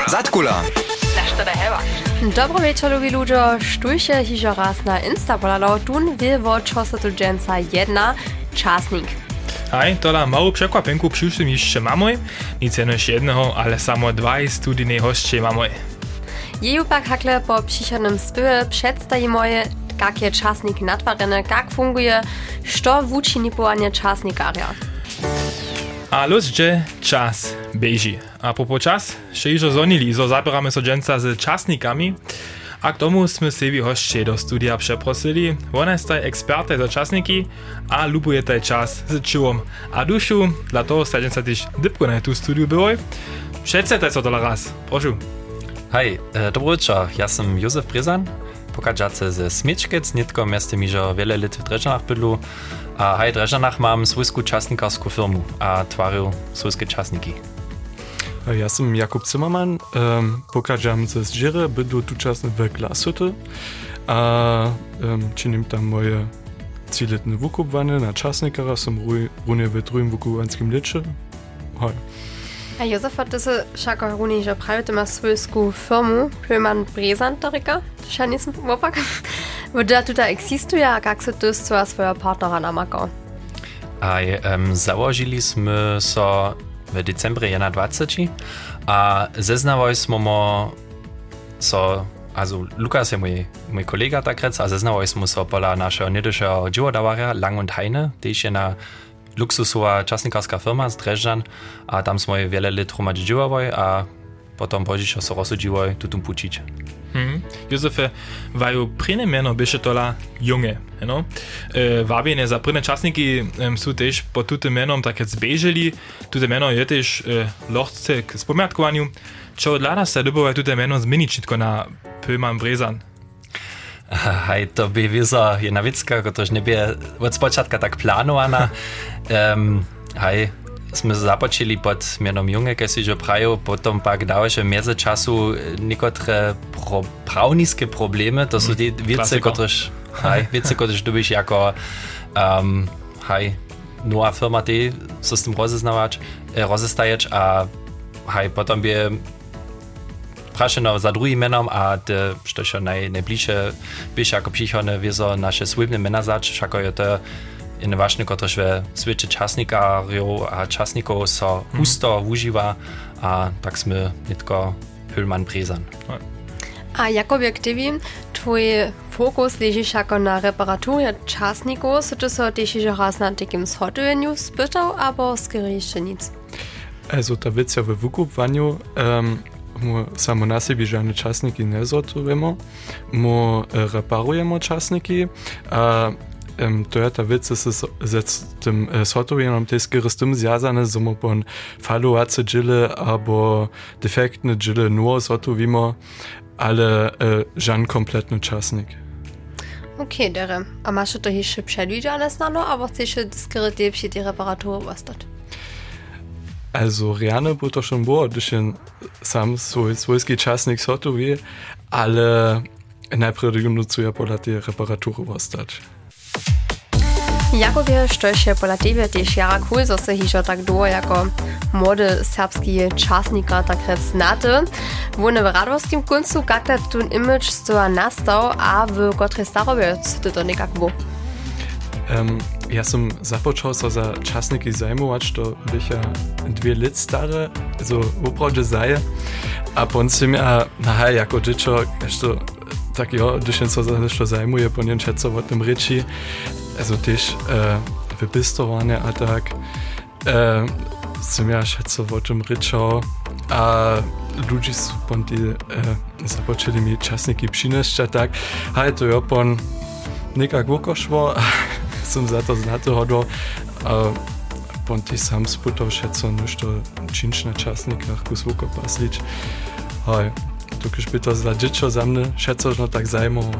Zatkula. Dobro wieczór, lubi ludzie. Sztujcie hižo raz na Instapolalo. Tun wie wo czosotujenca jedna czasnik. Aj, tola mału przekwapenku przyszłym jeszcze mamoj. Nic jenoś jednego, ale samo dwaj studijnej hostcze mamoj. Jeju pak hakle po przychodnym spywie przedstawi moje, jakie czasniki natwarene, jak funguje, što wuči nipowanie czasnikaria. A los, że czas beži. A propos czas, še ižo zonili, zo zabieramy so dženca z časnikami. A k tomu sme sebi hostče do studia przeprosili. Ona jest taj ekspertaj za časniki a lubuje taj čas z čuvom a dušu. Dla toho sta dženca tyž dybko na tu studiu bywoj. Představte so tola raz. Prošu. Hej, dobro večer, ja sam Józef Brezan, pokažace ze Smiečkec, nitko mjeste mi že wiele lat w Drežanach bydlu. A hej, v Drežanach mám svojskú časnikarsku firmu a tvarju svojske časniki. Ja sam Jakub Zimmermann, pokażam ze Zdziery, bydlu tu czasny w Glashütte, a czynim tam moje ciletne wukupwanie na czasnikara, som runie w drugim wukupanskim licze. Hej. A Józef hat diese šako runi, že pravite ma svojsku firmu, Pöman Brezantarika, to še nisem popak. Woda tuta existuje, a jak se to z svojho partnera namako? Aj, załožili sme so w decembrie 21 a zeznawali sme so, also Lukas je mój kolega takrec, a zeznawali sme so pola našeho niedyszeho dživodavarja Lang und Heine, tež je na luksusová časnikarska firma z Drežan a tam sme wiele lat hromadzi dživovali a potom požišo so rozsudživali tutum pučić. Józefе, vaju prine meno byše tola junge, no? Wabjene za prine časniki su tež po tutem menom tak zbeželi. Tute meno je tež lochce k spomiatkovanju. Čo dla nas se dobovaj tute meno zmeničitko na Pöman Brezan? Hej, to by vizo jedna vicka, protože nebie od spočatka tak planowana. Hej, sme započili pod menom Junge, keď si že prajú, potom pak dalšie mieze času niekotre pravnické problémy, to sú tie vice, ktoré dobíš jako nová firma, ty so s tým rozestajač a potom by prašeno za druhým menom a što še najbližšie byš ako přichodne vizo naše svojbne mena zač, všako je to in ważne, kotrež ve svete časnikarjov a časnikov so husto užíva a tak sme nitko Pöman Brezan. A jak objektivim, tvoj fokus leži šako na reparaturje časnikov, so to so tež že raz na takim shodovenju spytał, abo skoro jeszcze nic? Also ta wiec ja we wukupwaniu samo na sebi žane časniki ne sortujemo, mu reparujemo časniki, a to je ta wiec, z tym sortowaniem też z tym związane, że my pon falujące dżile albo defektne dżile nur sortujemy, ale żan kompletny czasnik. Okay, dere. A masz to jeszcze przedwidziane znano, aber chcesz skoro lepsze die Reparatur was Also reane bo to schon było, gdyż sam swojski czasnik sortuje, ale najpierw nucuję pola tej reparatury wostać. Jakobie, što się pola tebe też jara cool, so se hižo tak długo jako młody serbski czasnika tak znate. Wone w radowskim końcu, jak ta tun image stoa nastał, a w kotrej starobie co to nekak było? Ja sam započal so za časniki zajmować, to bych ja 2 lat stare, so upravdě zaje, a pon si ja, jako dziecko, tak jo, když so za nešto zajmuje, po něm čeco o tym ryči, also też wypistowanie, a tak som ja šeco o tym ryczał, a ludzie su pon ti započeli mi časniki přinešća, tak, to jo pon nekak vukošvo, som za to znato hodol, a pon ti sam sputov šeco nešto činč na časnikach kus vukopaslič. To když by to za dziecko za mne šeco no tak zajmovo.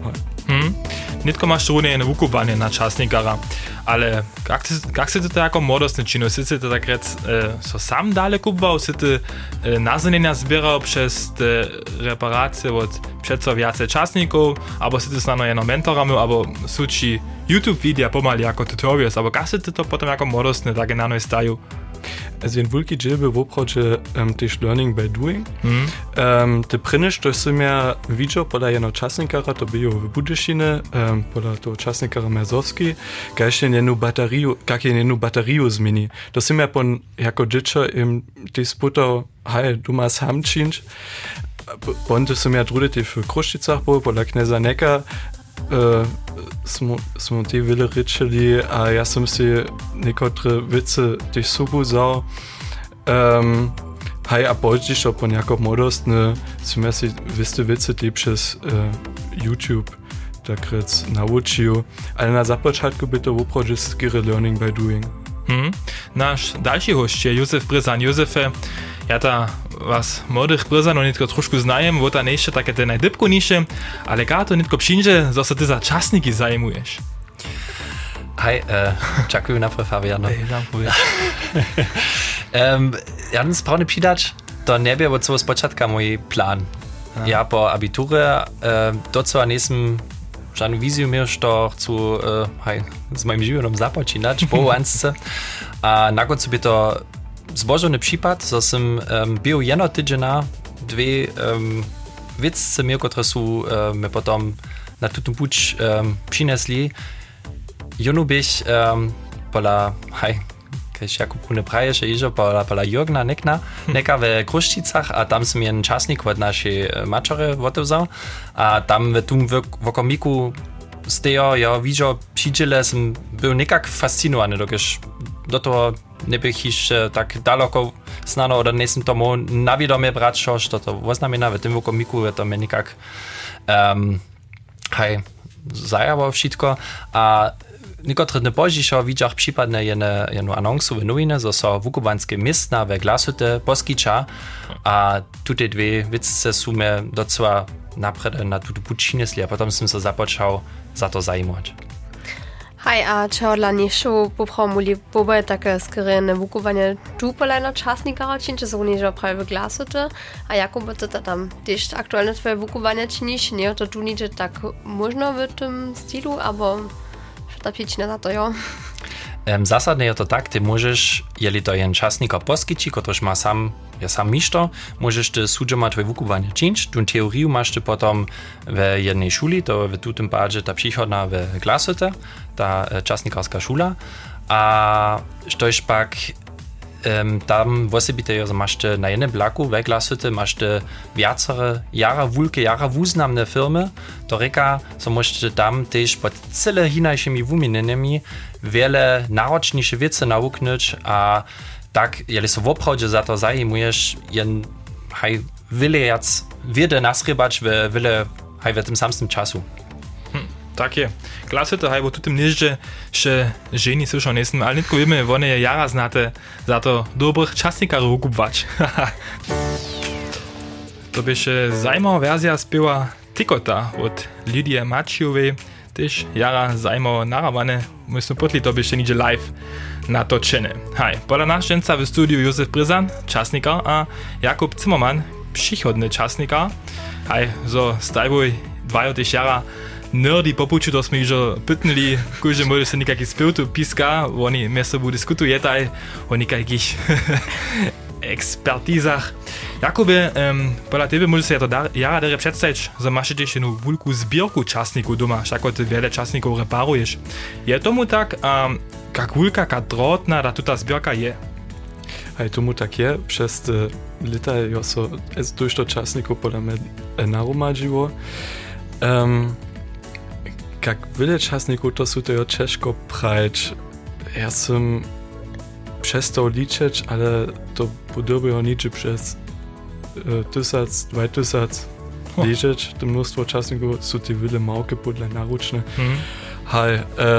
Nitko masz runie na wukupanie na czasnikara, ale jak si to jako młodostny činu? Si to tak rec so sam dale kupował, si ty nazanienia zbierał przez te reparacje od przeco więcej czasników, albo si ty znano jedno mentorami, albo suci YouTube wideo pomali jako tutorials, albo jak si to potem jako młodostny tak na staju? Also jen wulki dżilby w oprodzie też learning by doing. Te prynysz to są ja widział pola jedno czasnikara, to było w Budyszine, pola to czasnikara Merzowski, gajście jenu bateriu zmieni. To są ja pon jako dziecko im ty sputał, hej, du masz ham czynć, pon to są ja drudy ty w Kruszczycach było, pola kneza Neka, smo te wiele ryczeli, a ja sam si niekotre wice też subu zał. Hej, a później to po nějakou modost, ne, som ja si wiste wice te przez YouTube takrec nauczył, ale na započátku by to opravdu skýre learning by doing. Nasz dalszy host je Józef Bryzan. Józefie, ja ta was młodych Bryzanów nitko troszkę znajem, bo ta jeszcze takie te najdybkunisze, ale to nitko przyjdzie, że się ty za czasniki zajmujesz. Hej, dziękuję najpierw, Fabiano. Ja bym sprawnie przydać, to nie był od spočatka mój plan. Ja po abiturze docela nisem żadną wizję miał, że chcę z moim życiem započinać po łączce. A na końcu by to zbożony przypad, że sam był jedno tydzień, dwie wiece miał, które są my potem na tutą puć przynesli. Junu bych pola, keď Jakub Kune praje, že ižo pola Jurgna neka v Kruščicach a tam som jen časnik od našej mačore otevzal a tam v tom vokomiku stejo, ja vidžo přijdele, som byl nekak fascinovaný, dokež do toho nebych ještě tak daleko snano, oder nesem tomu navědomě brát, že to oznamená v tom vokomiku, je to mi nekak zajavo všetko a Niekotrzy dny później widział przypadne jedną anonsu w nowinach, że są wukowanskie miasta we Glashütte poskyča a tutaj dwie wice są mnie docela naprzed na tuto pučinesli a potem som się započal za to zajmować. Hej, a čo dla nižšou poprawili pobaje také skryjene wukowanie tu polejno czasnikara činče, są nižo prawie w Glashütte, a jako by to tam też aktualne twoje wukowanie činiš, nie to tu niže tak można w tym stylu, albo ta pięćna za to, jo? Zasadnie je to tak, ty możesz, jeli to jen czasnika poskyči, kotryż ma sam mišto, możesz ty sudžoma tvoje wukowanie činč, tu teoriu masz ty potom w jednej szuli, to w tutym padzie ta przychodna w Glashütte, ta czasnikarska szula, a štož pak tam osobite masz ty na jednym blaku w Glashütte masz ty wiacere jara wuznamne firmy, to reka, so możesz tam też pod cyle hinajszymi wumineniami wiele naroczniejsze wiece nauknąć, a tak, jeli so w oprawdzie za to zajmujesz, wiele nasrybać w tym samym czasu. Tak je. Glashütte haj, bo tu tym nieżdże, że żeni słyszą nesem, ale nitko wiemy, one je jara znate za to dobrych czasnikarów kupować. To by się zajmowa wersja spiewa Tikota od Lidie Macijowej, też jara zajmowa narawane, myślę potli to by się nidzie live natoczene. Haj, pola naszczęca w studiu Józef Bryzan, czasnikar, a Jakub Zimmermann, przychodny czasnikar. Haj, so stajbuj dwajo też jara nerdy popuču, to smo ižo pytnili, kúže môže sa nekaký spev tu píska, oni mes sobu diskutujetaj o nekakých expertízach. Jakube, podľa tebe môže sa to jara dere predstaviť, že máš tiež jednu veľkú zbierku časníkov doma, všako ty veľa časníkov reparuješ. Je tomu tak, jak veľká, jak drotná ta zbierka je? Hej, tomu tak je, przez lata jo so durch to časníkov podľa mňa naromadžiło. Jak wiele czasników to są to ciężko prać. Ja sam przestał liczyć, ale to podobało niczy przez 1000, 2000 liczyć. To mnóstwo czasników są te wiele małe podle naruczne. Hej,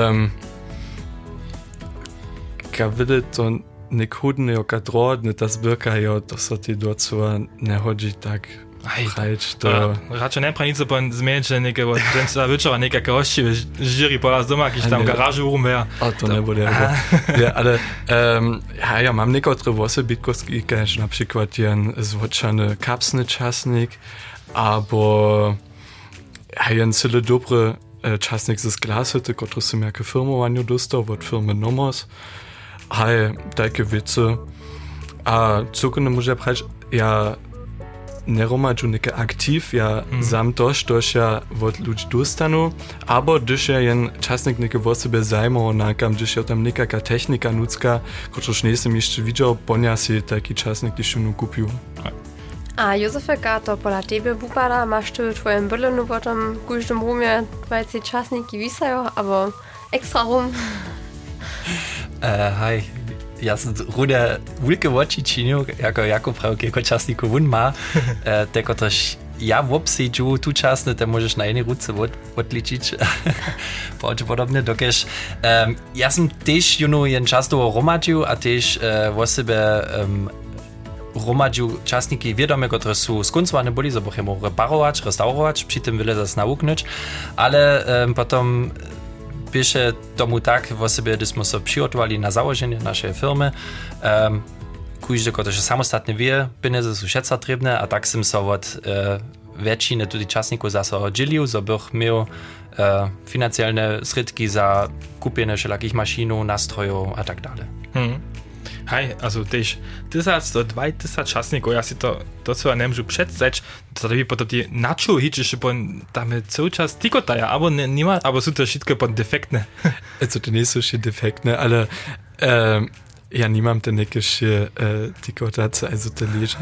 jak wiele to niekudne, jak drodne ta zbierka, to są te docela nie chodzi tak. Prać, to... Raczej nie prawie nic o pan zmienić, że niekiego dżęca wieczora niekaka hości w jury pola z doma, jakiś tam garażu umie. A to nie bude. Ja, ale ja mam niektóre osobitkosti, jak na przykład jen zwoczany kapsny czasnik, albo jen cyle dobry czasnik z Glashütte, który sam jako firmowaniu dostał od firmy Nomos. Takie wice. A cukrne może prać, ja neromadžu neke aktiv, ja sam tož ja od ludzi dostanu, abo když ja jen časnik neke o sebe zajmovo nakam, když ja tam nekaka technika nucka, kočož nesem jeszcze widział, ponia si taki časnik, když ju kupił. A Józefeka, to pola tebe wypada, masz ty w twoim bylinu potem w każdym rumie 20 czasniki wisają, albo extra rum? Hej, ja sam rude wielkie oczy czynił, jako prawie czasniku wun ma, tylko też ja w obsiedziu tu czasny, to możesz na jednej ruce odliczyć, podobnie, dokeż ja sam też jen czas do romadził, a też w sobie romadził czasniki wiadome, które są skoncowane byli, żeby je reparować, restaurować, przy tym wiele zas nauknąć, ale potem pisze tomu tak, w sobie, gdyśmy się przygotowali na założenie naszej firmy, każdy, który samostatnie wie, pieniądze są všetko trzebne, a tak sam się od większości tych czasników zase oddzielił, żeby miał finansialne środki za kupienie wszelakich maszyn, nastrojów a tak dalej. Hej, also też 1000 do 2000 czasników, ja si to co nie mogę przedstawić, to by potem die nacho hitches pon tam cały czas tikotaja, aber nie ma, aber są to wszystko pon defektne. Also to nie są się defektne, ale ja nie mam te jakieś tikotace, also te leża,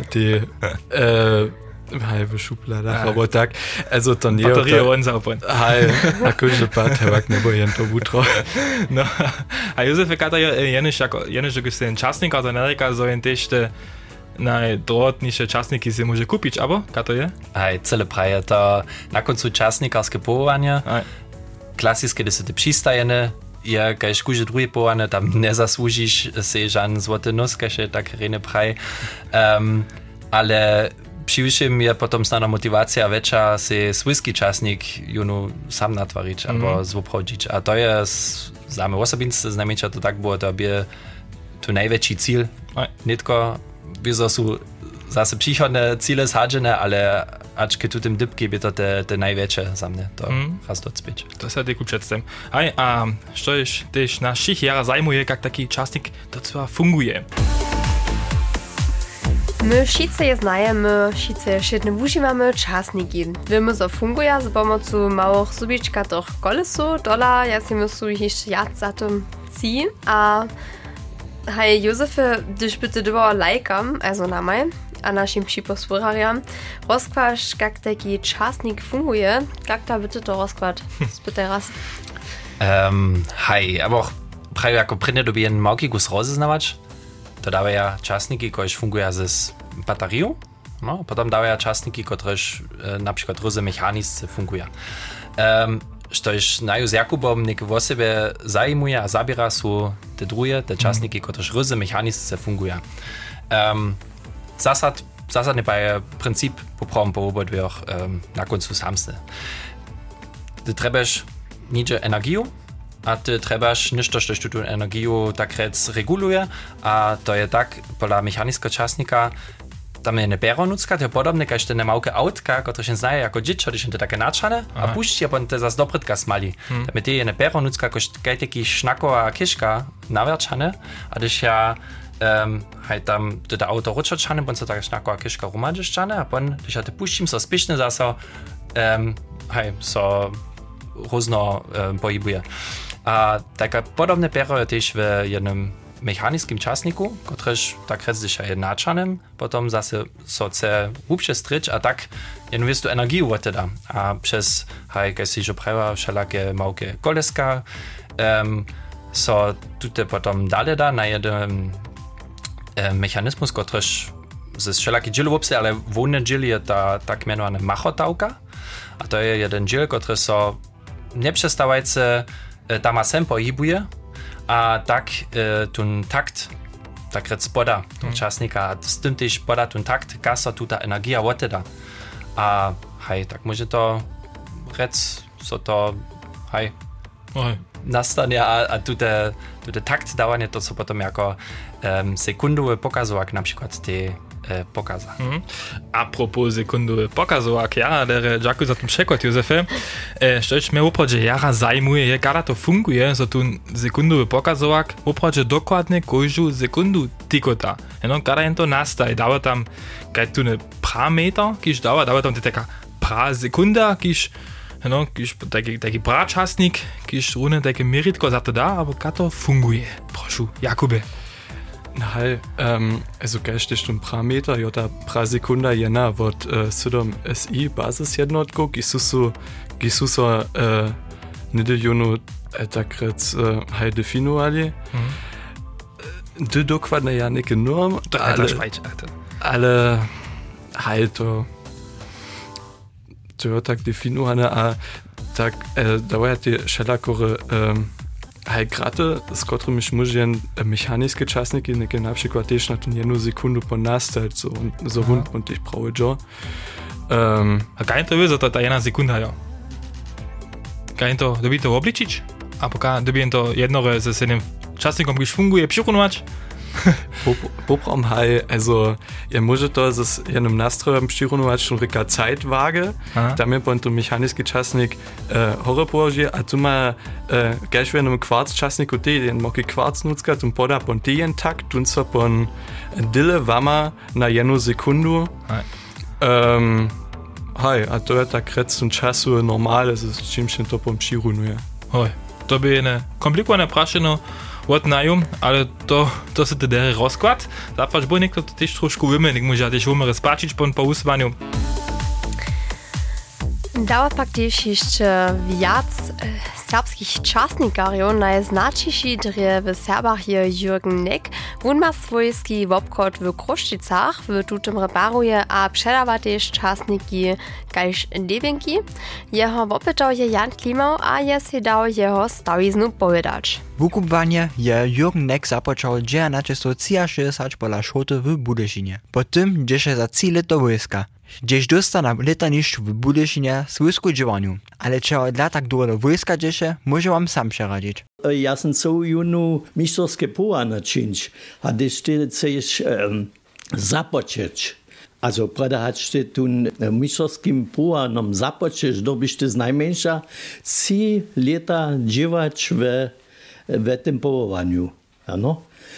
halbe Schublade, aber tak, also to nie... Batterie unsauber. Hej, a kurze patewak ne bojen to butro. No, a Józef kata jenisch gesehen czasnik, also Amerika so in też te najdroższe czasniki się może kupić, albo kata je? Hej, cele praje, to na końcu czasnikarskie powołanie, klasyczne, gdy się te przystajene, ja kaž kuže drugie połane, tam nie zasłużysz się żaden złoty nos, kaž je tak rene praj, ale Przywyższym je potem znana motywacja większa się swójski czasnik sam natwarić albo zwoprodzić. A to jest za mnie osobiste znamienia, to tak było, to by to największy cel. Nie tylko, wieso są zase przychodne cele zhadzene, ale aczki tu tym dybki by to te największe za mnie, to raz docpieć. To się tylko przedstawiam. A co jest też naszych jara zajmuje, jak taki czasnik to co funguje? My wszyscy je znajemy, wszyscy świetnie używamy czasniki. Wiemy, co funguje z pomocą małych zubiczkatych kolesu, dola, ja si myślę, jeszcze jad za tym ci. A hej, Józefie, gdyż by ty dbała lajkam, also na maj, a naszym przyposłuchariam, rozkłasz, jak taki czasnik funguje, jak ta bitte to rozkład? Spytaj raz. Hej, aber prawie jako prynne doby jen małki gus rozeznawać, to dawaja czasniki, które fungują z baterią, no, potem dawaja czasniki, które na przykład różne mechaniczne fungują. Co jest najuz Jakubom niek o siebie zajmuje a zabiera są te drugie, te czasniki, które różne mechaniczne fungują. Zasadnie je princip poprawom po obodwiach na końcu samsny. Ty trebasz nicze energię, a ty trebasz niż to, że tu energię tak rec reguluje, a to je tak, pola mechanicznego czasnika, tam je nebero nucka, to je podobne, kaž te nemałke autka, które się znaje jako dziecko, když je takie naczane, a puści, a potem te zas dobrytka smali. Tam je te je nebero nucka, kaž taki sznakowa kiszka nawerczane, a když ja hej tam to auto ruczane, bo co taka sznakowa kiszka rumadziszczane, a potem když ja te puścim, so spieszne zaso, hej, so różno pojibuje. A taka podobne pero je też w jednym mechanicznym czasniku, któryż tak rec je nachaným, potom zase so chce hlubšie stryć, a tak jen wiesz tu energię odteda. A przez hej, keď si že prawa wszelakie małkie koleska, so tutaj potom dalej da na jeden mechanizmus, któryż ze wszelakie dziely wopse, ale wolne dziely je ta tak mianowana machotałka, a to je jeden dziel, który so nieprzestawajce tam a sem pohybuje, a tak ten takt, tak rec poda ten czasnika, a z tym też poda ten takt, kasa tu ta energia odteda. A hej, tak może to rec, so to hej, nastanie, a tu te takt dawanie to, co potem jako sekundowe pokazu, jak na przykład te pokaza. A propos sekundowy pokazowak, jara, dere dziękuję za ten przekład, Józefie. Szczerze mnie uprodzie jara zajmuje, jak to funguje, że tu sekundowy pokazowak uprodzie dokładnie każdą sekundu tikota. Kada jen to nastaje, dawa tam kaj tu ne parameter, kiż dawa tam taka pra sekunda, kiż taki pračasnik, kiż rune takie meritko za to da, aber to funguje. Proszę, Jakube. Hej, also gleich um Parameter, ja ta pra sekunda jena wird sudom SI basisjednotko, gisu so nide junu takret hej definuali. Du dokładnie ja nie norm, ale hej to ja tak definuwane, a tak dawa ti szelakory hej graty, z którymi możemy mechaniskie czasniki, na przykład też na tą jedną sekundę po nastać, so rund und ich brauche jo. A kaj to wiedzą, to ta jedna sekunda, ja. Kaj to, dobi to obliczyć? A poka dobi to jednore ze jednym czasnikom, kiż funguje, przyrunować? Poprom hej, also może to z jednym nastrojem przyrunować schon reka Zeitwaage, tam je to mechaniski czasnik horropołoży, a tu ma gleich w jednym kwarc-czasniku jeden moki kwarc nutzka, tum poda pon jeden takt, tun so pon dille wama na jedną sekundu. Hej, a to je tak rec zum czasu normale, z czym się to pon przyrunuje. Hej, to by eine komplikowane praszeno, what najum, ale to se te dere rozkład. Zapraszam, bo niekto to też troszkę wymienić, może też umrę spaczyć po uswaniu. Dawa pak też jeszcze wiac serbskich czasnikarów. Najznaczniejszy w Serbach je Jürgen Neck. On ma swojski obchod w Kruszczycach, w tutem reparuje, a przedawa też czasniki kajż dewienki. Jeho opytał je Jan Klimał, a je si dał jeho stawiznu powiedzieć. Wukupwanie je Jürgen Neck zapoczął 1963 pola szkoły w Budyszynie. Potem dzieje za 3 lata wojska. Gdzieś dosta na letaniszczu w Budyszynie swójsku działaniu. Ale czego dla tak długo wojska dzieje, może wam sam przeradzić. Ja sam co junu mistrowskie poła naczynić, a gdyż ty chcesz zapocząć. Also predahać ty tu mistrowskim poła nam zapocząć, dobyś ty z najmniejsza 3 lata dziewać w tym połowaniu. Ano?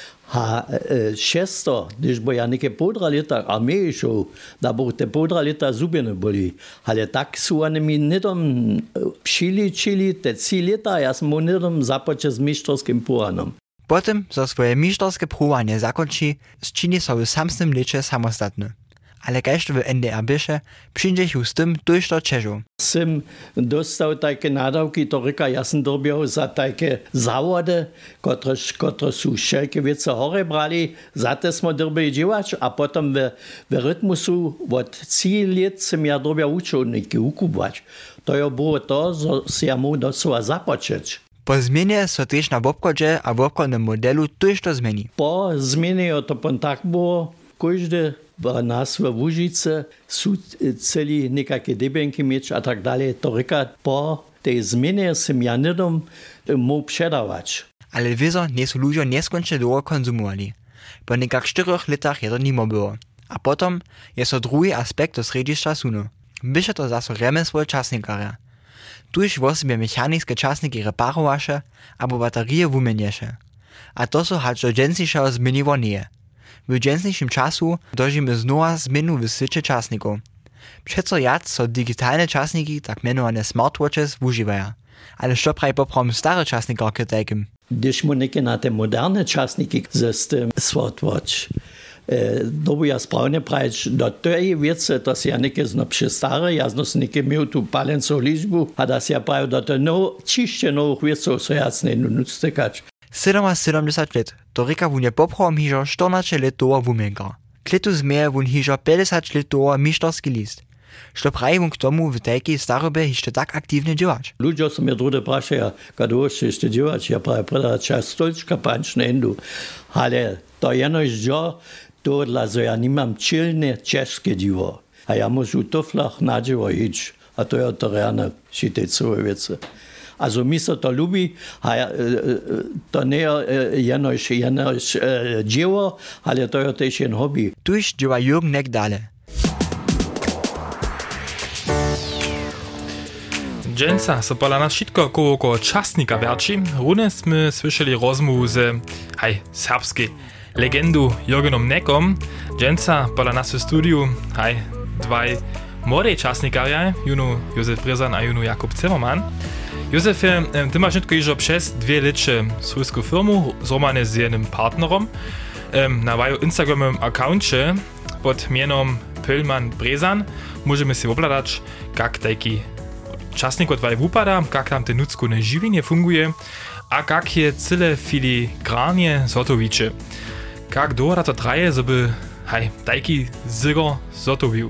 A šesto, když bo ja neke podra leta armee šel, da bo te podra leta zubje ne boli. Ale tak su oni mi nedom přiličili te 3 leta, ja sam mu nedom započet z mištrovskim poranom. Potem za swoje mistrowskie próbowanie zakończy, zczyni sobie w samym lecze samostatny. Ale kajż w NDR bysze, przyjdzie już z tym tuż do Czeszu. Sam dostał takie nadawki, to ryka, ja sam dobiał za takie zawody, które są wszelkie wiece hore brali, za te smo dobili działać, a potem w rytmusu od 3 lat sam ja dobiał uczulniki ukupować. To ja było to, że ja mu docela zapocząć. Po zmianie so też na obchodzie a w obchodnym modelu tuż to zmieni. Po zmianie to tak było, każdy w nas w Łużyce są celi nekakie debenki mieć, a tak dalej. To ryka, po tej zmianie sam ja nedom mógł przedawać. Ale wiedzą, nie są ludzie nieskończnie długo konsumowali. Po nekak 4 latach je to nimo było. A potom jest to drugi aspekt do središća sunu. Byše to zase remesło czasnikara. Tuż w sobie mechaniskie czasniki reparowaše, abo baterie wumenieše. A to so hać do dżensniejszego zmieniło nie. W dżensniejszym czasu dożymy znowa zmienu w sycie czasników. Przeco jac so digitalne czasniki, tak mianowane smartwatches, używają. Ale co praj poprom stare czasnikarki takim? Když mu neke na te moderne časniki z tym smartwatch, dobu ja sprawnie prajeć, do tej wiece, to się ja neke zno przestare, ja zno neke miał tu palencą liczbu, a da się ja prawie do tej ciście nowych wieców, so ja nie nuctykać. 70 let, to ryka wunie poprom hižo 14 let doła wumenka. Kletu zmieje wun hižo 50 let doła misztorski list. Što praji wun k tomu w takiej starobie jeszcze tak aktywnie działać? Ludzie są mnie drugie praszają, kiedy jeszcze działać, ja prawie predać czas stolczka panczne endu. Ale to jenoś dzio, to dla że ja nie mam czylne czeskie dziwo. A ja muszę w tuflach na dziewo iść. A to ja to rano się te całe wiece. Also mi so to lubi, to nie jenoś dzieło, ale to jest też jen hobby. Tuż dzieła Jürgen nek dale. Dżęca so pola nas wszystko koło czasnika wierci. Rune sme słyszeli rozmowu z serbskiej legendu Jürgenom Nekom. Dżęca pola nas w studiu dwaj młodej czasnikarja, juno Józef Bryzan a juno Jakub Zimmermann. Józefie, ty masz nitko już przez 2 licze swojską firmu, zromane z jednym partnerom. Na waju Instagramowym accouncie pod mienom Pölman Bryzan możemy się obladać, jak taki czasnik od waj wupada, jak tam te nudzkone żywienie funguje, a jak je cyle filigranie zotowicze. Jak długo to traje, żeby taki zygo zotowił?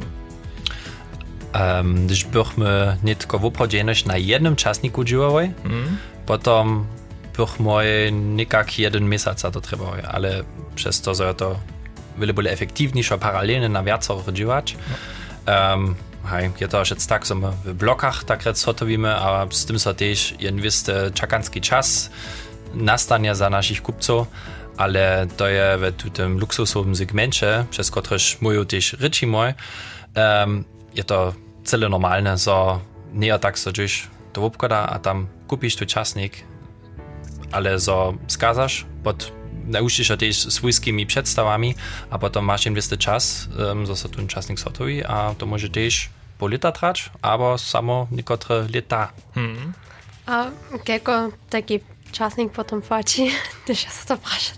Když bychmy nitko woprawdzie na jednym czasniku działali, potom bychmy nikak jeden miesiąc za to trebali, ale przez to, że to byli efektywniejsze paralelnie na wiacorych działać. Je to już tak, że my w blokach tak zotowimy, a z tym so też wisty czakanski czas nastanie za naszych kupców, ale to je w tym luksusowym segmencie, przez któryż mówią też ryci mój, je to cyle normalne, że nie tak, że gdzieś to obkłada, a tam kupisz tu czasnik, ale że skazasz, pod nauczysz się też swojskimi przedstawami, a potem masz inwesty czas, że się ten czasnik sotowi, a to może też po lata trwać, albo samo niektóre lata. A jako taki czasnik potem płaci, też ja się to praszać.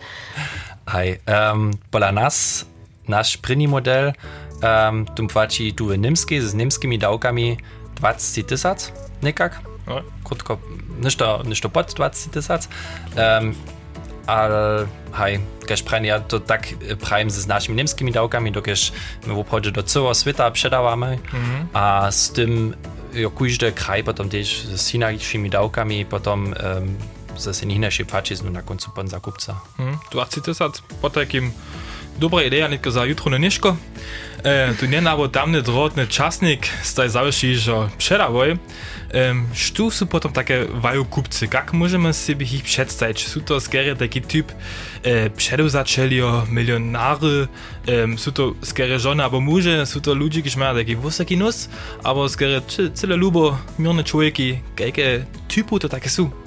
Pola nas, nasz první model, tu płaci tu niemski, z niemskimi dawkami 20 000, nekak. Krótko, ništo pod 20 000. Ale když ja to tak prajem z naszymi niemskimi dawkami, dokiż my w obchodzie do całego świata przedawamy, a z tym każdy kraj potem też z innymi dawkami potem zase inaczej płaci na końcu pan zakupca. 20 000 po takim dobra idea, nitko za jutro na nieszko. Tu nie nabo tamny drotny czasnik staj zawsze, że przedawoj. Što są potem takie waju kupcy? Jak możemy sobie ich przedstawić? Są to skiery taki typ przedewzaczelio, milionary, są to skiery żony albo muże, są to ludzie, którzy mają taki wysoki nos, albo skiery cyle lubo, mirne człowieki, jakie typu to takie są?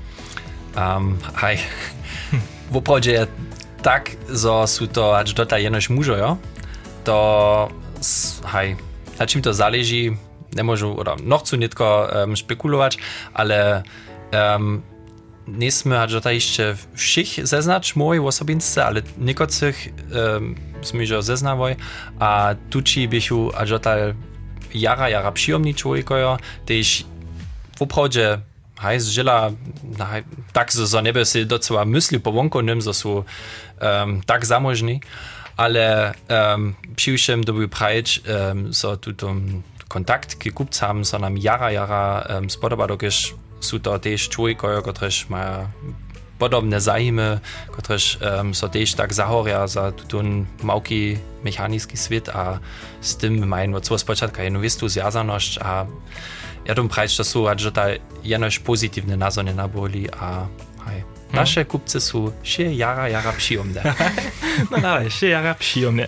W oprawdzie tak, że są to aż dotaj jenoś mużo, jo? To na czym to zależy, nie możu, oder noch chcę nitko spekulować, ale nie sme aż dotaj jeszcze všich zeznać mojej osobince, ale niekotrych sme już zeznawoj, a tuci bychu aż dotaj jara przyjemni człowiekojo, też w oprawdzie zżyla tak, że nie by się docela myśli po wonku nim, że są tak zamożni, ale przyjszym doby prajeć, że tu kontakt k kupcam so nam jara spodoba, dokiż są to też człowiekoje, którzy mają podobne zajmy, którzy so też tak zahoria za ten małki mechaniczny świat, a z tym mają od spoczatku jedną wistu związaność, a ja dom prajeć, że są aż tutaj jenoś pozytywne nazory naboli, a nasze kupcy są się jara przyjemne. No dalej, się jara przyjemne.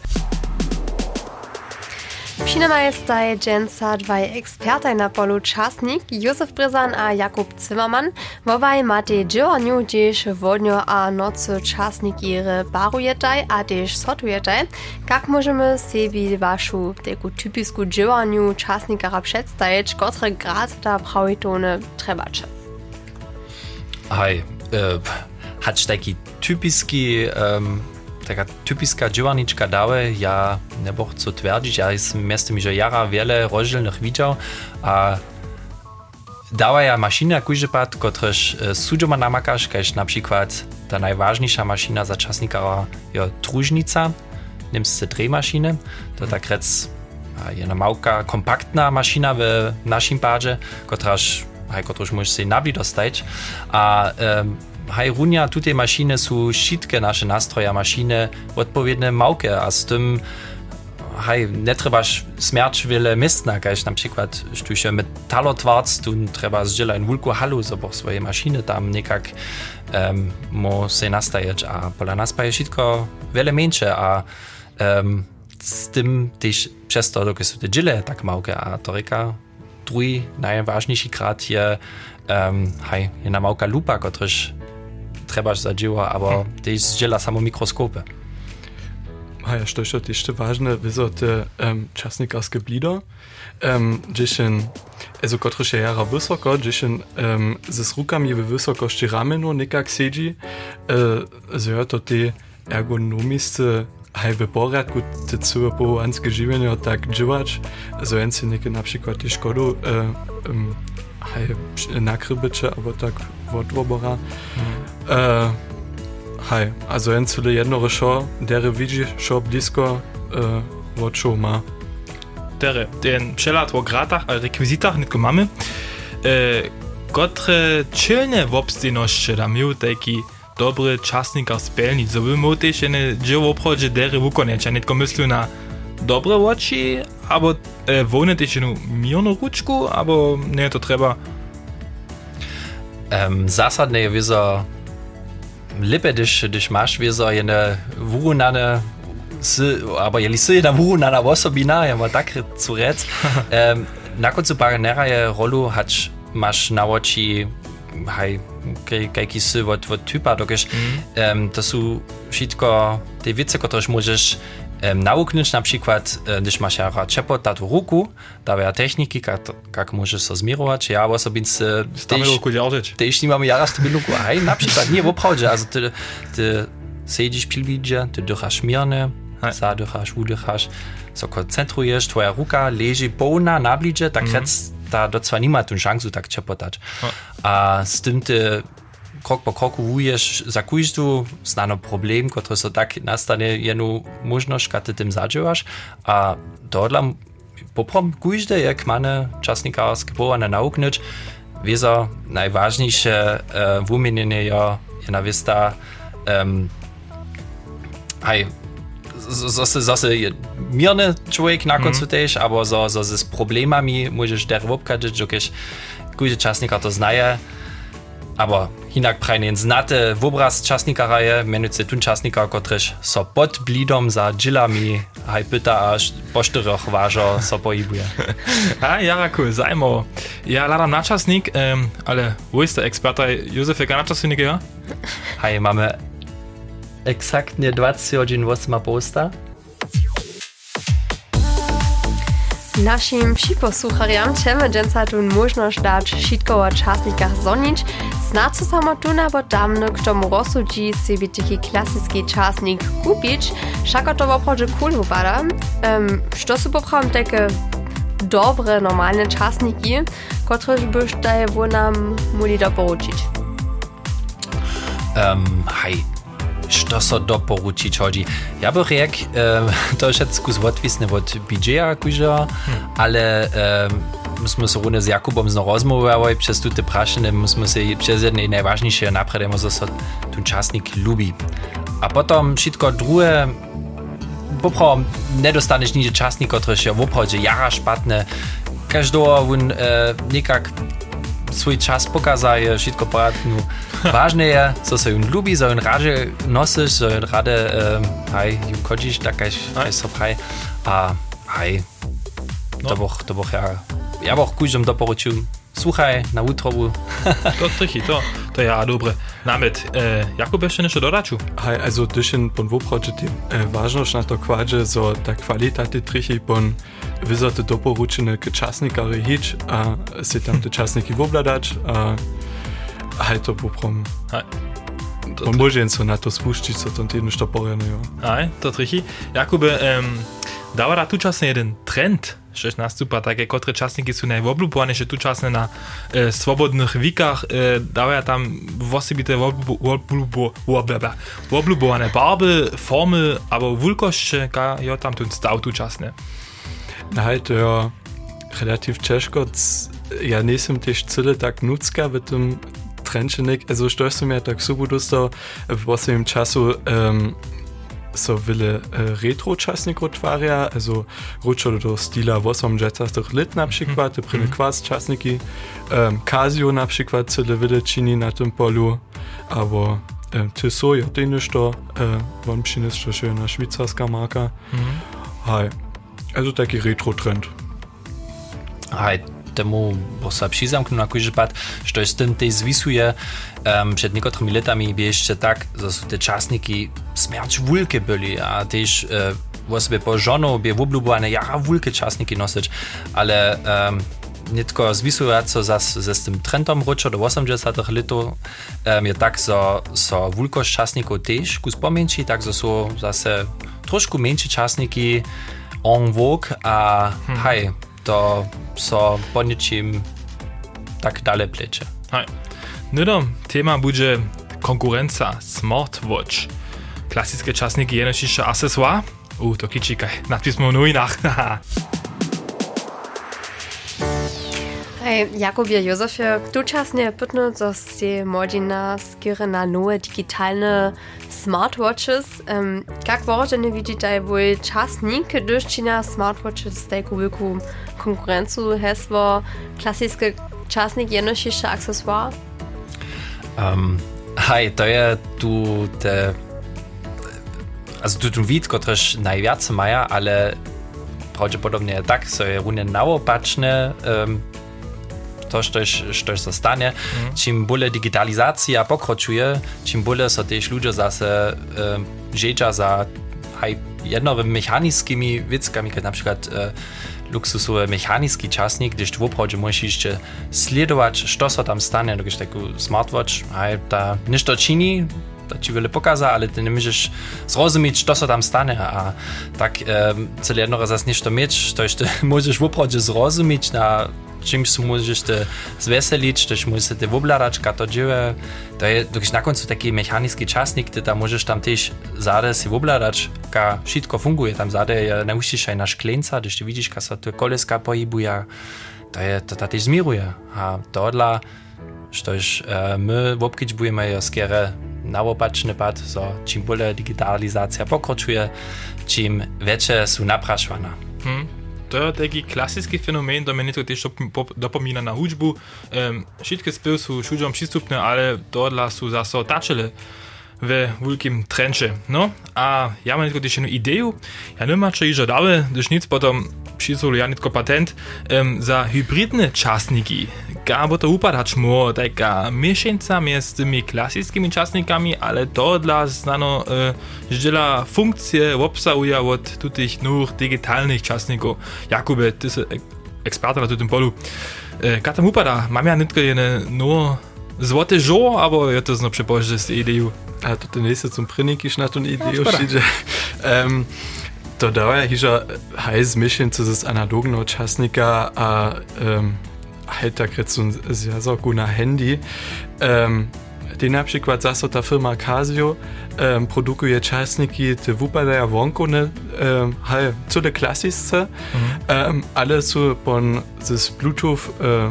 Přinema je staj dżęca dwaj ekspertaj na polu czasnik, Józef Bryzan a Jakub Zimmermann. Wobaj matej dżełaniu, gdzieś wodnio a nocy czasnik ihre barujetaj, a też sotujetaj. Jak możemy sobie waszą taką typisku dżełaniu czasnikara przedstawić, który grad ta prawitone trebacze? Hacz taki taka typiska dżełaniczka dały, ja nie chcę twierdzić, ja jestem miastem, że jara wiele rozdzielnych widział, a dała ja maszyna każdy pat, któryż sudzioma namakasz, każ na przykład ta najważniejsza maszyna za czasnika je trużnica, niemscy drehmaszyny, to tak rec jedna małka, kompaktna maszyna w naszym padzie, któraż możesz się nabli dostać, a runia tutaj maszyny są wszystkie nasze nastroje maszyny odpowiednie małke, a z tym nie trzebaš smierć wiele miejsca, kaž na przykład sztusie metalotwarc, tu trzeba zdzielać wulku halu, zobo swoje maszyny tam niekak mo se nastajeć, a pola nas pa je wszystko wiele mniejsze, a z tym też przez to, dokud są te dziele tak małe, a to reka drugi najważniejszy krat je jedna małka lupa, któryż trebaš zadziała, aber też zdziela samo mikroskopy. A ja što je jeszcze ważne, wieso te czasnikarskie blido, also kotryż je jara wysoko, z rukami w wysokości ramenu nekak siedzi, so to te ergonomisce w porядku te całe połanskie żywienie tak działać, so jen si neke na przykład te szkodu nakrybycze, albo tak wodwobora. Also jen cyle jednore šo, dere widzi šo blisko od šo ma. Dere, ten przelat o gratach a rekwizitach nitko mamy, kotre czylne wobstejności da miał taki dobry czasnikar spelnic, so by mógł też jedne dzieło obchodzie dere wykonać, a nitko myślał na dobre oczy, albo wolne też jedną mirną ruczku, albo nie to trzeba. Zasadne je wieso lepiej, když máš wieso jedne wurunane, aber jeli si jedna wurunana osobina, ja ma tak zu rec, na koncu paranera je rolu máš na oči kajki si od typa, dokiż to są wszystko te wice, któreż możesz nauknąć, na przykład, když máš jara čepot na tu ruku, da techniki, jak możesz so zmirować, ja osobince też nie mamy jara z tym ruku, na przykład, nie w obchodzie, also ty siedzisz pilbidzie, ty dychasz mirne, zadychasz, udychasz, so koncentrujesz, twoja ruka leży pełna na blidzie, tak da docela nie ma tu szansu tak čepotać. A z tym ty krok po kroku wujesz, zakujesz tu, znano problem, który so tak nastanie jedną możność, kad ty tym zadziałasz, a dodla poprom kujde, jak mamy czasnikarskie połane nauknąć, wieso najważniejsze wymienienie je na wiesta zase mirny człowiek na końcu też, albo z problemami możesz der obkadzić, jokiż kujde czasnikar to znaje, aber hinak prajne znate obraz czasnikara je, menujce tun czasnikar, kotryż so pod blidom za dżilami pyta, aż po 4 ważo so pojibuje. A, jara cool, zajmo. Ja ladam na czasnik, ale wo jest der Experte Józef, jaka na czasnik, ja? Hej, mamy exaktnie 28 posta. Naszym posłuchaczom chcemy dzisiaj tu możliwość dać wszystko o czasnikach zonić. Znaczy samo tu bo damno k tomu rozsudzi sobie taki klasyczny czasnik kupić. Wszak to w obchodzie cool wypada. Co są poprawne takie dobre, normalne czasniki, które byś daje nam mogli doporučić? Hej. Što so doporučić hodzi? Ja bych řekl, to je všetko odvisné od budžeta, kuža, ale my jsme se rovně s Jakubom rozmluvali přes tu prašiny, my jsme si přes jedné nejvážnější napředem, že se ten časnik lubi. A potom všetko druhé, popravom nedostaneš nikde časnik, který je v obchodě jara špatné, každý on někak svůj čas pokazuje, všetko poradnu. Ważne je, co se jun lubi, co jun radzie nosisz, co jun rade jun chodzisz, tak jak so praj. A to bych ja bych kujžom doporučil, słuchaj na utrobu. To trichy, to ja dobre. Nawet, Jakub jeszcze nešto dodaču? Hej, also dyšen pon woprodže ti važnost na to kvađe, so ta kvalitata ti trichy pon vizote doporučene k časnikari hič, a si tam te časniki vobladač, a hej, to poprom. On može so na to spuščiť, so tam týdno što porjeno, jo. Hej, to trichy. Jakube, dava da tu časne jeden trend, šeš nastupa, také kotre časniki sú najvobľúbovanejšie tu časne na svobodných výkach, dávajú tam vosebité vobľúbované barby, formy, alebo vulkosť, jo tam tu stav tu časne. Hej, to je relativ češko, ja nisem tež cyle tak nucka v tom trenčenik, also što som ja tak super dostal v posledním času so wiele retro-czasników twarja, also ruczo do styla 80 lat na przykład, te prime kwas czasniki, Casio na przykład cyle wiele czyni na tym polu, albo Tissot, ja też to, wam przynieść to schöna szwajcarska marka. Hej, also taki retro-trend. Hej, temu bosa přizamknú na kúži pad, što je s tým tej zvisuje. Před niektorými letami by ešte tak, že sú tie časníky smierč vulke byli a tiež vo sebe po žonou by obľúbované vulke časníky nosiť, ale netko zvisujúco zase s tým trendom ročo do 80 letov je tak, so vulkosť časníkov tiež kus pomenší, tak sú zase trošku menší časníky en vogue a hej, to so po ničím tak dalej pleče. Hej. Nudom téma bude konkurenca smartwatch. Klasické časníky je nočišće accessoire. To kičikaj, nadpismo v novinách. Hej, Jakubie, Józefie, kto časne pytnú, co ste młodzina skiery na nowe digitalne smartwatches. Jak wożenie widzicie, bo czasnik, gdyż ci na smartwatches taką wielką konkurencję hesło klasyczny czasnik jednocześnie akcesoire? Hej, to je tu te... Also tu wid, kotreż najwiacej maja, ale prawdopodobnie tak, so je runie naopaczne to, što zostanie. Čím bole digitalizacja pokročuje, čím bole so też ludzie zase žeđa za jednowymi mechanickimi wickami, jak na przykład luksusowy mechanický časnik, gdyż tu woprawdzie możesz jeszcze sledować, co so tam stanie, gdyż taki smartwatch, ta niż to czyni, to ci wiele pokaza, ale ty nie możesz zrozumieć, co so tam stanie, a tak cele jedno raz niż to mieć, to jeszcze możesz woprawdzie zrozumieć, na czymś się możesz te zweselić, też możesz te wobladaczka to dzieje, to jest dokąd na końcu taki mechanický czasnik, ty tam możesz tam też zade si wobladaczka wszystko funguje, tam zade je nauczysz na szklenca, gdyż ty widzisz, jak się te koleska pojibuje, to też zmieruje, a to dla, że my w obkić budemy skiery naopaczny pad, so czym bole digitalizacja pokroczuje, czym więcej są napraszwana. To je taki klasický fenomén, to mne to tiež dopomína na hudžbu. Všetky spěv sú všuďom prístupné, ale tohle sú zase tačele ve veľkým trenče. No a ja mám netko tiež jednu ideu. Ja nemám čo ižo dále, když nic potom přizul ja netko patent za hybridne časníky. Gábo to upadač mo, taká miešenca między tymi klasickými časníkami, ale tohle znano ždela funkcie obsahuje od tutych nowych digitalnych časníkov. Jakube, ty si eksperta na tym polu. Ka tam upada? Mam ja netko jedne no złote żo, albo je to znowu przypożdżę z ideą? A to ten nächste zum Prinikisch na tą ideą przyjdzie. To daje hiža hajz miešenca z analogného časnika a tak recun zjazorku na handy. Die na przykład zase ta firma Casio produkuje časniki, te wypadają wonkone, co te klasyczne, ale są pon z Bluetooth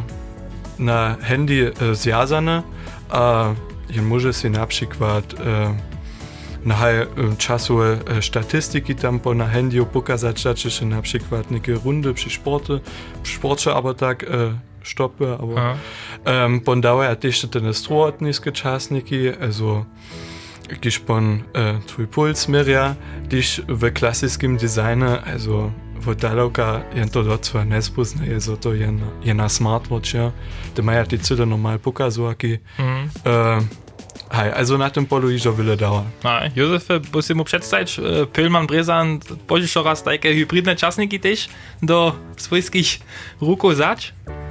na handy zjazane, a je może się na przykład na czasowe statystyki tam po na handy pokazać, że się na przykład niekie rundy przy sporcie, aber tak stoppe, aber von daher też te strohatniskie czasniki, also gdyż pon twój puls mieria, gdyż w klasycznym designie, also w daleka jen to docela nespozna, je to jedna smartwatch, ja, te maja ty cyle normal pokazujaki. Hej, also na tym polu iżo wiele dała. Józef, musimy mu przedstawić, Pylman Brezan, podzisz raz takie hybridne czasniki też do swojskich ruków zać?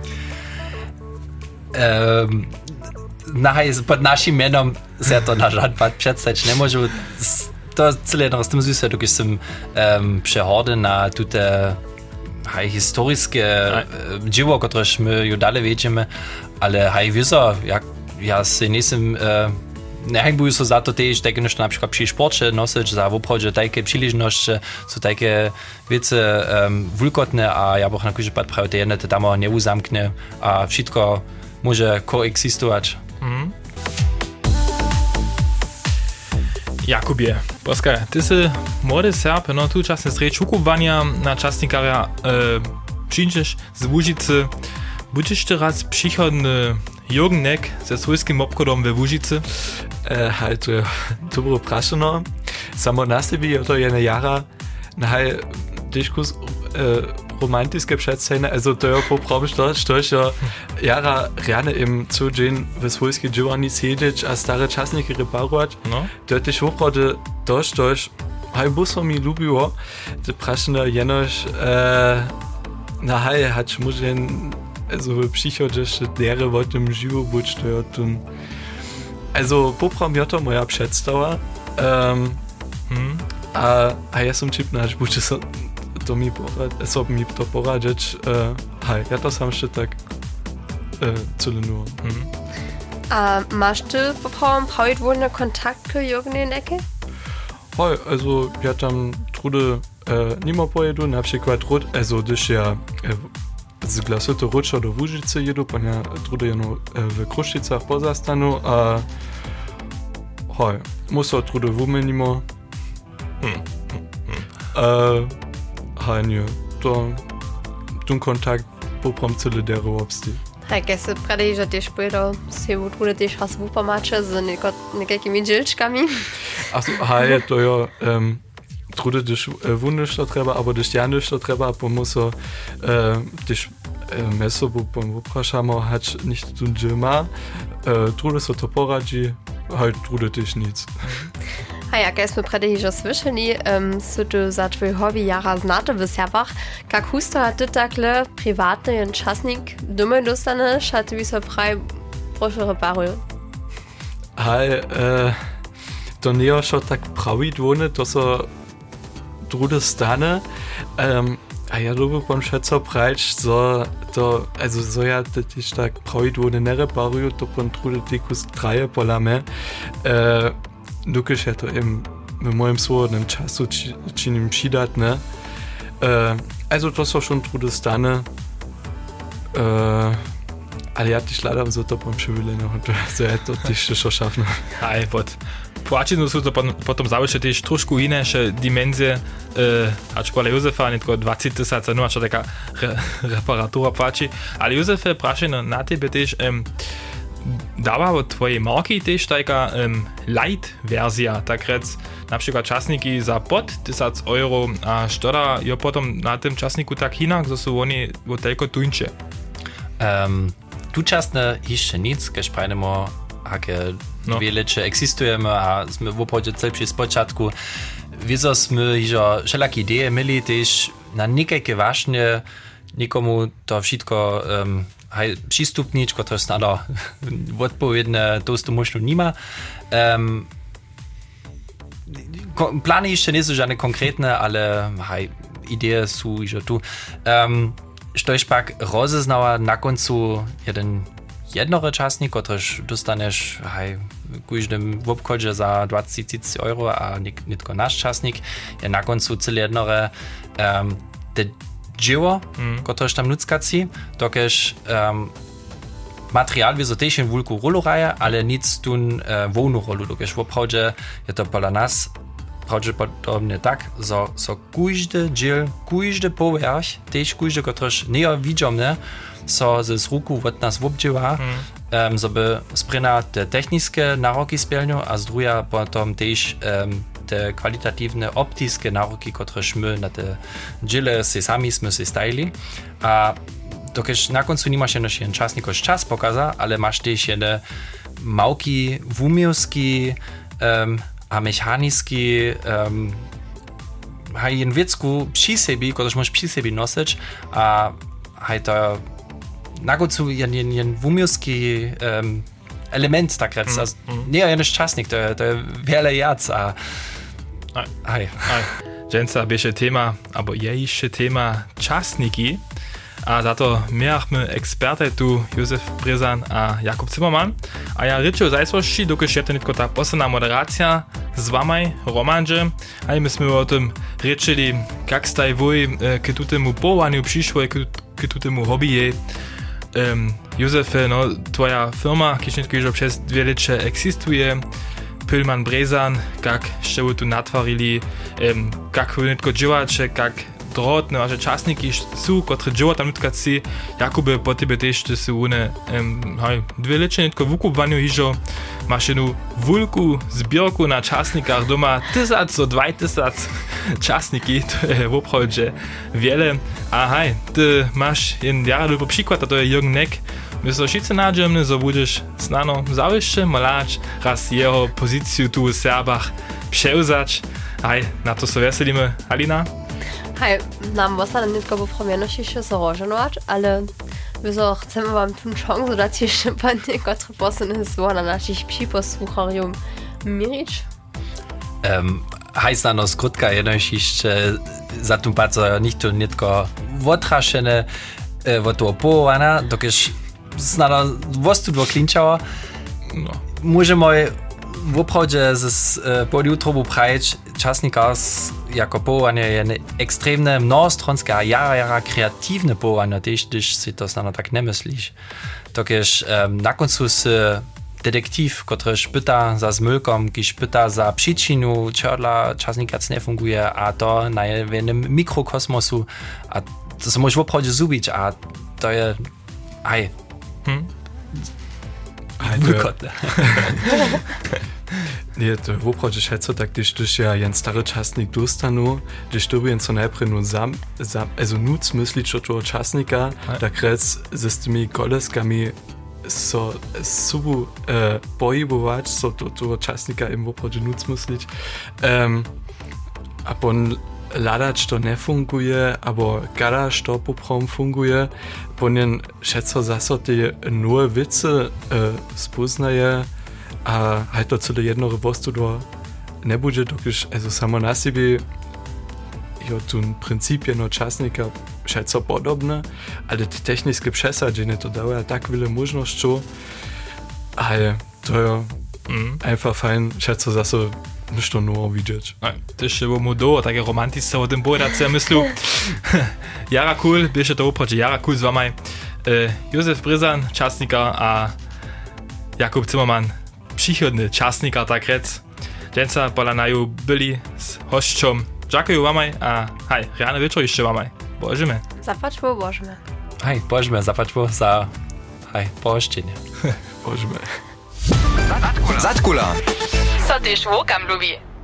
Pod naszym mianem się to na żadne przedstawić nie może. To cyle z tym związane, dokąd jestem przechodzę na te historyczne dzieło, któreż my już dalej wiedzimy, ale wiedzą, jak ja się nie jestem nehajbuju so za to też takie nešto na przykład przy sporcie nosić, za woprawdzie takie przyleżności, są takie wiece wulkotne, a ja bych na każdy pad prawie te jedne te tam nie uzamknę, a wszystko może koexistować. Jakubie, poskaj, ty si młody Serb, no tu czasne strej čukowania na czasnikaria przyjdziesz z Łužicy. Budeš ty raz przychodny Jürgenek ze swojskim obchodom we Łužicy? Halt, dobro prašeno. Samo na sebi je to jedna jara, nahaj diskus romantiske představne, also to je poprobno, što je jara rjane im cudžin ve svojski dživani sedič a stare časnike reparovat. No? To je tyž oprode to, štož haj buso mi ljubilo, to prašeno jenož nahaj hač možen also psychodische Lehre wollte im Živobuč, to je tun. Also popram je to moja představa. A ja som čipná, až buďte sa to mi to poradiť. Ja to sam ešte tak celinu. A máš ty popram pravidvolne kontakty Jürgen Necke? Hej, also ja tam trude nima pojedu, na przykład also když ja z Glasuto Ruča do Łužice jedu, pa ja trude jeno v Krušicach pozastanu a hej, muso trude vumenimo. Hej, nie, to tun kontakt poprom cele dero obsti. Hej, keď si predej, že tiež pôjdo si trude tiež raz v upamače s nekakými džilčkami. Hej, to je trude też wunderlich to trzeba, aber też janisch to trzeba, bo muszę też meso, bo popraszamy, hać nicht tun dżema, trude so to poradzi, halt trude też nic. A jak jsme předej, že slyšeli, si tu za tvoj hobby jara znate v Serbach, kak husto a ty takhle privátny časnik doma dostaneš, a ty by se praj prošel reparuju? Hej, to nie je šo tak pravidvolne, to so trude stane, a ja lubię pan šeco prajč, so ja też tak pravidvolne ne reparuju, to pan trude tikus traje polame, dokiž ja to im v mojem svobodnem času činim přidat, ne? Also to so schon trude stane, ale ja też ladam za to pan przewileno, to ja to też šo šafno. Aj, pod płačinu sú to potom zaujšie tiež trošku inéšie dimenzie, ač kvôli Jozefa, netko 20 000, no ač taká reparatúra płači. Ale Jozefe, prašeno na tebe tiež dáva od tvojej marky tiež taká light verzia, tak rec, napríklad časníky za pod 1000 euro a štoda je potom na tym časníku tak inak, že sú oni od toľko tunče. Tu časne ešte nic, keď prajdemo aké dwie lecze eksistujemy, a sme w oprodzie celprzy z początku. Wieso sme hižo wszelakie idee mieli też na niekajkie ważne nikomu to wszystko przystupnić, które snado odpowiednie to možno nima. Plany jeszcze nie są żadne konkretne, ale idee są hižo tu. Štož pak rozeznała na końcu jednore časnik, ktorýž dostaneš v každém obchodě za 20 000 euro a nitko náš časnik je na koncu celé jednore te dživo, ktorýž tam nuckací, dokež materiál wieso też in wulku rolu raja, ale nic tun wolnu rolu, dokež v obchodě je to pola nas prawdopodobnie tak, so każdy dżil, każdy povrch, też każdy, któryż nie widzimy, so z ruku od nas obdziewa, żeby sprina te techniczne naroki spełnią, a z druga potom też te kwalitatywne optyczne naroki, któreż my na te dżile sami jsme si stajili. A dokež na końcu nie masz jeszcze czasnikoś czas pokaza, ale masz też jedne małki wumiowski, a mechanický haj jen věcku při sebi, kterž můžeš při sebi nosič a haj to na koncu jen wumiowski element tak rec. Nie jen časnik, to je wiele jac a haj. Dženca běže téma, abo je ještě téma časniki. A za to miachmy eksperty tu Józef Brzan a Jakub Zimmermann. A ja rečo zajsvoši, dokud je to netko ta posledná moderacja z wami, Romandže. A my jsme o tom rečeli, jak staj voj k tutemu povolaniu přišlo, k tutemu hobby. Józef, no, tvoja firma, když netko již přes 2 leče existuje, Pylman Brezan, jak jeszcze tu natwarili, jak nitko dziewacze, jak drotne wasze czasniki są, które dziewa tam nitkaci, jakoby po tebe też to są one, dwie lecze nitko wukupwaniu hižo, masz jednu wulku zbierku na czasnikach doma, 1000 do 2000 czasniki, to je woprawdzie wiele, a ty masz jeden jara przykład, a to je Jürgen Neck. My so wszyscy nadziemny, że będziesz znano zawieszcze malać, raz jego pozycję tu w Serbach przełzać. Na to so weselimy. Alina? Nam zostane nie tylko popromienność jeszcze zarożenować, ale my so chcemy wam tę szansę dać jeszcze pan niektóre posłane słowa na naszych przyposłucharium mirić. Znano skrótka jednoś jeszcze za tym bardzo nie tylko otraszene, to opowana, dokiż znano wostu dwo klinčała. No. Możemy w oprawdzie z podjutru prajeć czasnika jako połowanie je ekstremne, mnohostronskie, a jara kreatywne połowanie, też gdyż si to znano tak nie myślisz. Dokiż na końcu detektiv, który pyta za zmylkom, kiż pyta za przyczinu, czego czasnika nie funguje, a to na jednym mikrokosmosu, a to se możesz w oprawdzie zubić, a to je wykotne. Nie, to w oprawdzie šeco tak, když ja jen stary czasnik dostanu, když to jen co najprej also nuc myslić o toho czasnika, tak rec z tymi koleskami so subu pohybować, so toho czasnika im w oprawdzie nuc myslić. A pon ladać to nie funguje, albo gadać to poprom funguje, ponieważ šeco zase te nowe wice spoznaje, a to cele jednore wostu do ne bude, dokiż samo na siebie jo tu princip jedno czasnika šeco podobne, ale te techniczne przesadzenie to daje tak wiele możliwości, ale to je einfach fajn, šeco zase ništo novo widzieć. To jeszcze było mu do, takie romanticzne o tym povedać, ja myślę, jara cool, bieže to oprawdzie jara cool z wami. Józef Brezan, czasnika, a Jakub Zimmermann, przychodny czasnika, tak rec. Dżęca polanaju byli z hością. Dziękuję wam, a rano wieczór jeszcze wam. Bożymy. Zapaczmy, bożymy. Bożymy, zapaczmy za pohoštěnje. Bożymy. Zatkula. Co też łukam lubi.